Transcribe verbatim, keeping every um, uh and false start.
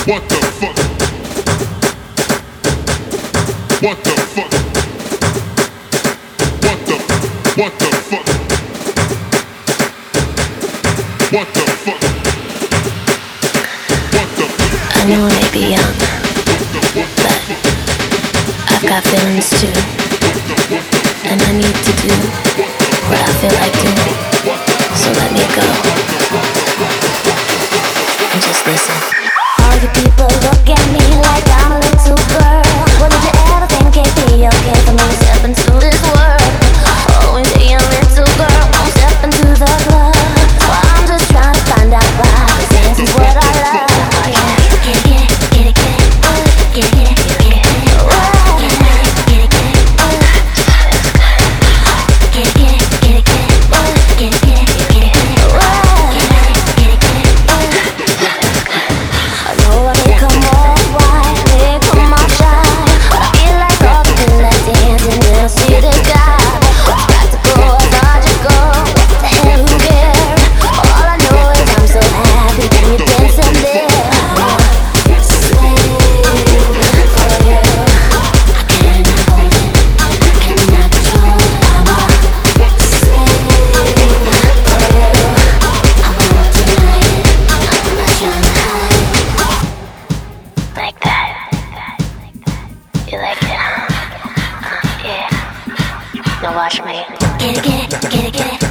What the fuck? What the fuck? What the what the fuck? What the fuck? What the I know I may be young, but I've got feelings too. And I need to do what I feel like doing. So let me go. And just listen. All you people look at me like I'm a little girl. Well, did you ever think it'd be okay for me to step into this world? Oh, and be a little girl, won't step into the club. Well, I'm just trying to find out why, 'cause this is what I love. Oh, yeah. Get it, get it, get it, get it. Get it, get it, get it, get it. Oh, get it, get it, get it. Get it, get it, get it, get it. Get it, get it, get it, get it. Oh, get it, get it, get it. I know I may come all white, may come all shy, but I feel like all the people that dance and they don't see the guy. What's practical, what's logical, what the hell, who cares? All I know is I'm so happy when you dance and there. Like that. You like it? Uh, yeah. Now watch me. Get it, get it, get it, get it.